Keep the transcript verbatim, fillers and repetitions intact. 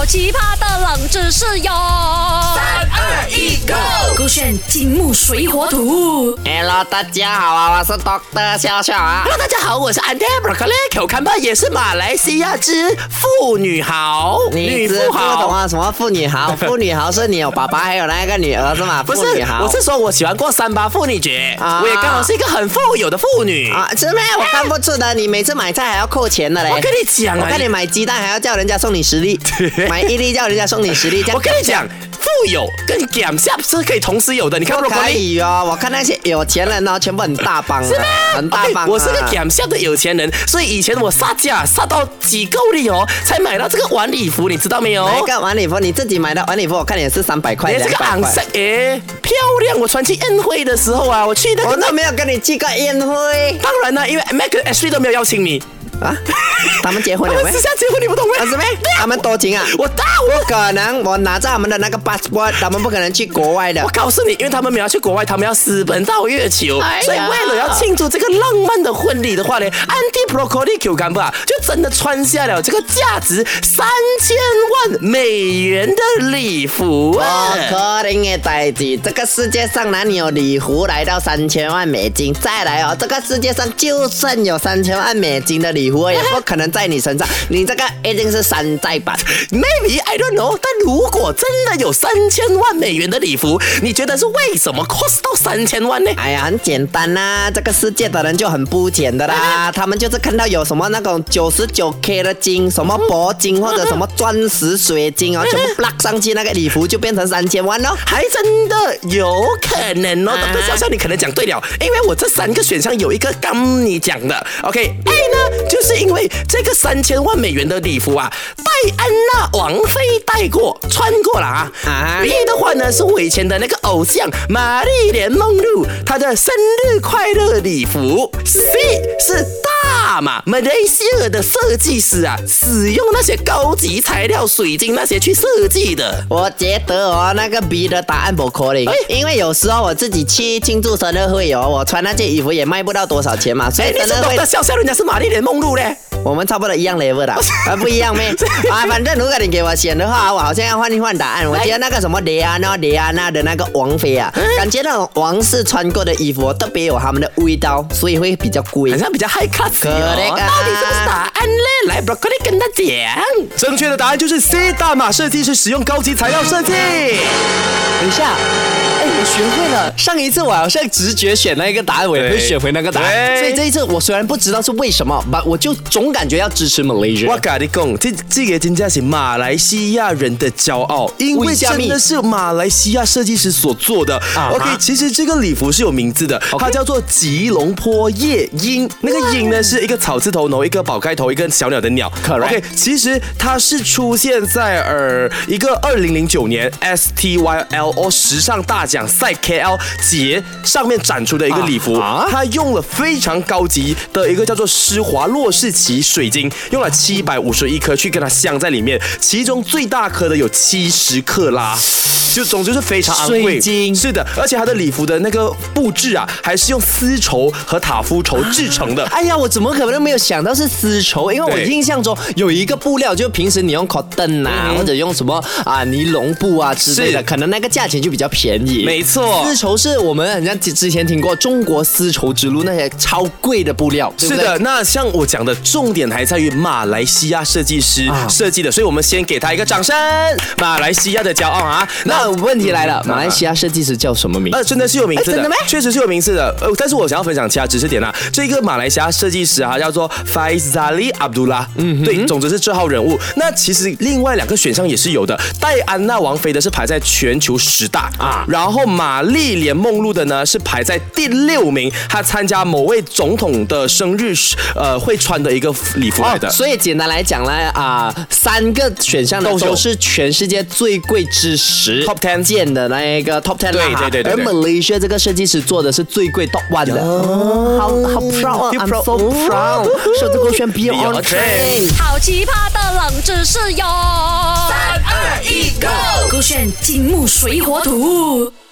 奇葩的冷知识哟！ 三二一 ，Go！ 勾选金木水火土。 Hello， 大家好啊，我是 Doctor 笑笑啊。 Hello， 大家好，我是 Auntie Broccoli， 看吧，也是马来西亚之妇女豪， 女富豪懂啊？什么妇女豪？妇女豪是你有爸爸还有那个女儿是吗？ 不是，我是说我喜欢过三八妇女节，啊、我也刚好是一个很富有的妇女啊，是咩？我看不出的，你每次买菜还要扣钱的嘞。 我跟你讲啊， 我看你买鸡蛋还要叫人家送你十粒，买一粒叫人家送你十粒。 我跟你讲。富有跟减下是可以同时有的，你看不可以哦。我看那些有钱人哦，全部很大方、啊， 是吗？ 很大方、啊 okay, 我是个减下的有钱人，所以以前我杀价杀到几够力哦，才买到这个晚礼服，你知道没有？ 哪个晚礼服？你自己买的晚礼服，我看也是三百块。 你这个昂色诶，漂亮！我穿去宴会的时候啊，我去那个， 我都没有跟你去过宴会。 当然啦，因为 Mac 跟 Ashley 都没有邀请你。 啊，他们结婚了没？ 他们私下结婚，你不懂吗？ 啊，是没？他们多情啊！ 我大我不可能，我拿着他们的那个 passport， 他们不可能去国外的。 我告诉你，因为他们没有去国外，他们要私奔到月球，哎、所以为了要庆祝这个浪漫的婚礼的话呢 ，Auntie Broccoli Q 干吧，就真的穿下了这个价值三千万美元的礼服啊！ 不可能的代志，这个世界上哪里有礼服来到三千万美金？再来哦，这个世界上就算有三千万美金的礼服。礼服也不可能在你身上，你这个一定是山寨版。 Maybe I don't know， 但如果真的有三千万美元的礼服，你觉得是为什么 cost 到三千万呢？ 哎呀，很简单啦、啊，这个世界的人就很肤浅的啦，啊、他们就是看到有什么那种九十九 K 的金，什么铂金或者什么钻石、水晶哦，全部 block 上去，那个礼服就变成三千万咯， 还真的有可能哦。啊、但是笑笑，你可能讲对了，因为我这三个选项有一个跟你讲的 ，OK，A 呢？就是因为这个三千万美元的礼服啊，戴安娜王妃戴过穿过了啊。啊 B 的话呢是我以前的那个偶像玛丽莲梦露她的生日快乐礼服。C 是大马马来西亚的设计师啊，使用那些高级材料水晶那些去设计的。 我觉得哦，那个 B 的答案不可能，因为有时候我自己去庆祝生日会哦，我穿那件衣服也卖不到多少钱嘛，所以生日会的笑笑人家是玛丽莲梦露嘞。 我们差不多一样 level 的，啊不一样咩？啊，反正如果你给我选的话，我好像要换一换答案。我觉得那个什么蕾安娜、蕾安娜的那个王妃啊，感觉那种王室穿过的衣服特别有他们的味道，所以会比较贵， 好像比较 high class 哦。 到底是不是答案嘞？来 ，Broccoli 跟他讲，正确的答案就是 C， 大马设计是使用高级材料设计。 等一下。哎，我学会了。上一次我好像直觉选那个答案，我也会选回那个答案。所以这一次我虽然不知道是为什么，但我就总感觉要支持 Malaysia。 我跟你讲，这这个真的是马来西亚人的骄傲，因为真的是马来西亚设计师所做的。Uh-huh. OK， 其实这个礼服是有名字的， okay. 它叫做吉隆坡夜莺。那个莺呢是一个草字头，然后一个宝盖头，一个小鸟的鸟。 Correct. OK， 其实它是出现在呃一个二零零九年 S T Y L O 时尚大奖赛 K L 节上面展出的一个礼服，啊、它用了非常高级的一个叫做施华洛世奇水晶，用了七百五十一颗去跟它镶在里面，其中最大颗的有七十克拉。就总之是非常昂贵， 水晶是的，而且它的礼服的那个布置啊，还是用丝绸和塔夫绸制成的。 哎呀，我怎么可能没有想到是丝绸？因为我印象中有一个布料，就平时你用 cotton 啊，嗯、或者用什么啊尼龙布啊之类的，可能那个价钱就比较便宜。 没错， 丝绸是我们好像之前听过中国丝绸之路那些超贵的布料，对不对？ 是的，那像我讲的重点还在于马来西亚设计师设计的，啊、所以我们先给他一个掌声，马来西亚的骄傲啊！ 那问题来了，马来西亚设计师叫什么名字？ 呃，真的是有名字的， 真的吗？ 确实是有名字的。呃，但是我想要分享其他知识点啊。这个马来西亚设计师啊，叫做 Faizali Abdullah， 嗯，对，总之是这号人物。那其实另外两个选项也是有的，戴安娜王妃的是排在全球十大啊，然后玛丽莲梦露的呢是排在第六名，她参加某位总统的生日，呃，会穿的一个礼服来的。 哦、所以简单来讲呢，啊、呃，三个选项呢都是全世界最贵之十 Top Ten 件的那一个 Top Ten 对对对对。 而 Malaysia 这个设计师做的是最贵 Top One 的。 哦， 好好 proud， I'm so proud。首次勾选 Be on Train。 好奇葩的冷知识哟！ 三二一 ，Go！ 勾选金木水火土。